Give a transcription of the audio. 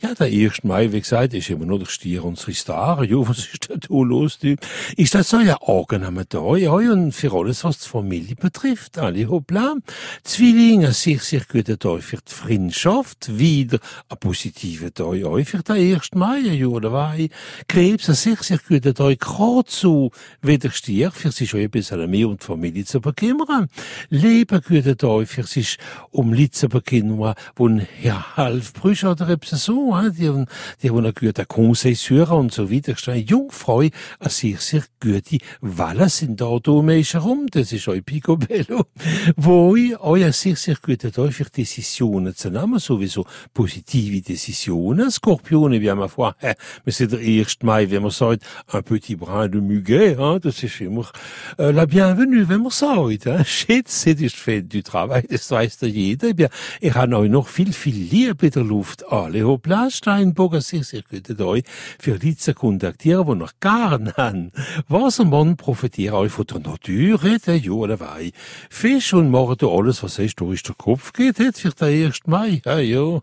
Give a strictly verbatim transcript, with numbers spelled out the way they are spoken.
Ja, der erste Mai, wie gesagt, ist immer noch der Stier unserer Star. Ja, was ist denn da los, du? Ist das so ja angenehmer Tag, ja, und für alles, was die Familie betrifft, alle hoppla. Zwillinge, sehr, sehr guter Tag für die Freundschaft, wieder ein positiver Tag, ja, für den ersten Mai, ja, oder was? Krebs, ein sehr, sehr guter Tag, gerade so wie der Stier, für sich schon ein bisschen mehr um die Familie zu bekümmern. Leben, guter Tag, für sich um Leute zu bekümmern, wo ja, halb Brüche oder etwas so, die haben, die haben eine gute Conseil und so weiter. Eine Jungfrau, eine sehr, sehr gute Welle sind da, da Menschen herum. Das ist ein Picobello. Wo ich auch ein sehr, sehr guter Tag für Decisionen zu nehmen, sowieso positive Decisionen. Skorpione, wie man vor, äh, wir sind der erste Mai, wenn man sagt, un petit brin de muguet, hein, das ist immer, äh, la bienvenue, wenn man sagt, hein. Schätze, das ist fait du Travail, das weiß ja jeder. Ich habe euch noch viel, viel Liebe in der Luft. Alle hoppla, Steinbock, sehr, sehr gute Tag für Leute zu kontaktieren, die noch gar nicht haben. Wassermann profitiert euch von der Natur, der ja oder wei. Fisch und machen da alles, was heißt, da ist der Kopf geht, für den ersten Mai. Ja, ja.